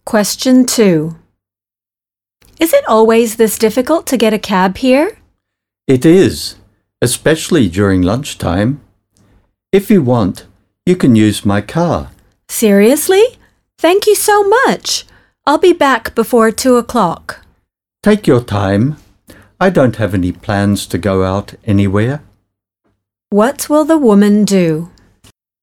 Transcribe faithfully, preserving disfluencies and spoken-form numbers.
Question two. Is it always this difficult to get a cab here? It is, especially during lunchtime. If you want, you can use my car. Seriously? Thank you so much. I'll be back before two o'clock. Take your time. I don't have any plans to go out anywhere. What will the woman do?